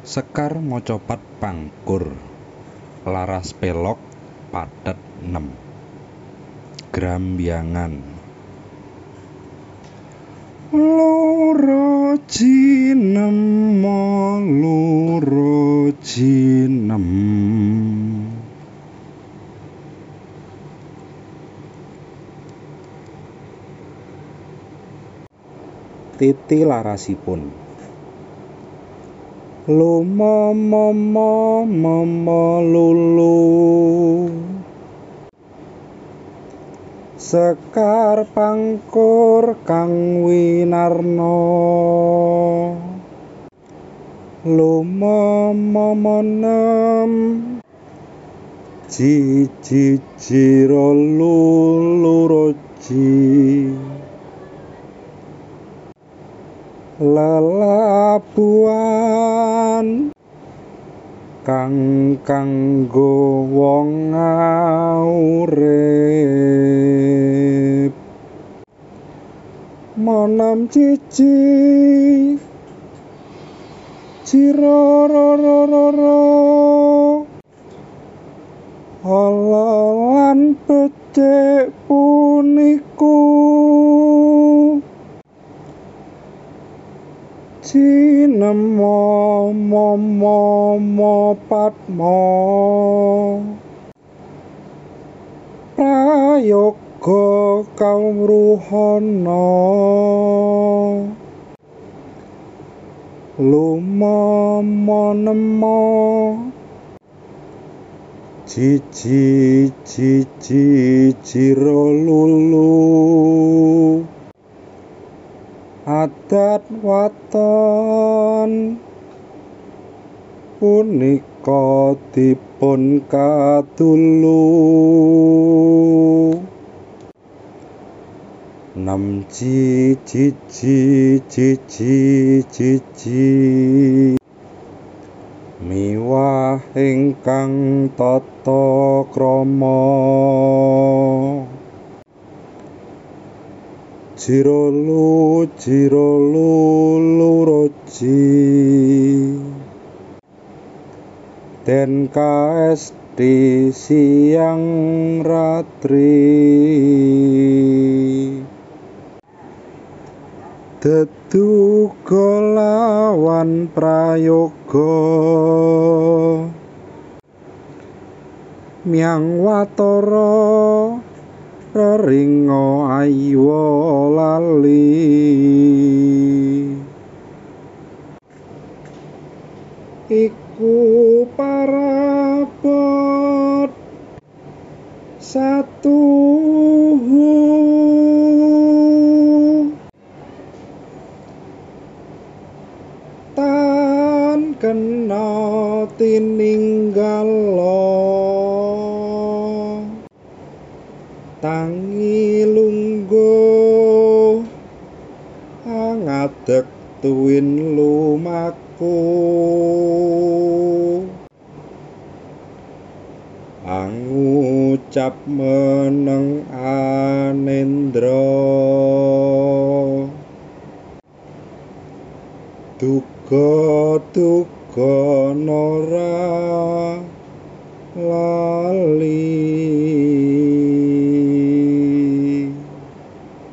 Sekar mocopat pangkur, laras pelog pathet 6. Grambyangan loro jinema loro jinem. Titi larasipun lumomo lulu. Sekar pangkur kang winarna lumomo 6. Jiro luluroji lelabuhan kang kanggo wong urip. Monem cici cirorororo ala lan becik puniku jinema momo padma prayoga kawruhana lumomo nemo jiji jiro lulu. Adat waton punika dipun kadulu 6 jiji miwah ingkang tata krama. Jiro luluroji den kaesti siang ratri deduga lawan prayoga miang watara reringa aywa lali. Iku parabot satuhu tan kena tininggala tangi lungguh ngadeg tuwin lumaku angucap meneng anendra duga nora lali.